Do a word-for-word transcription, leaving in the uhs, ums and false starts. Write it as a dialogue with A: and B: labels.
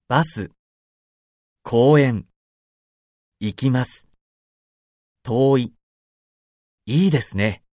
A: バス、公園、行きます。遠い。いいですね。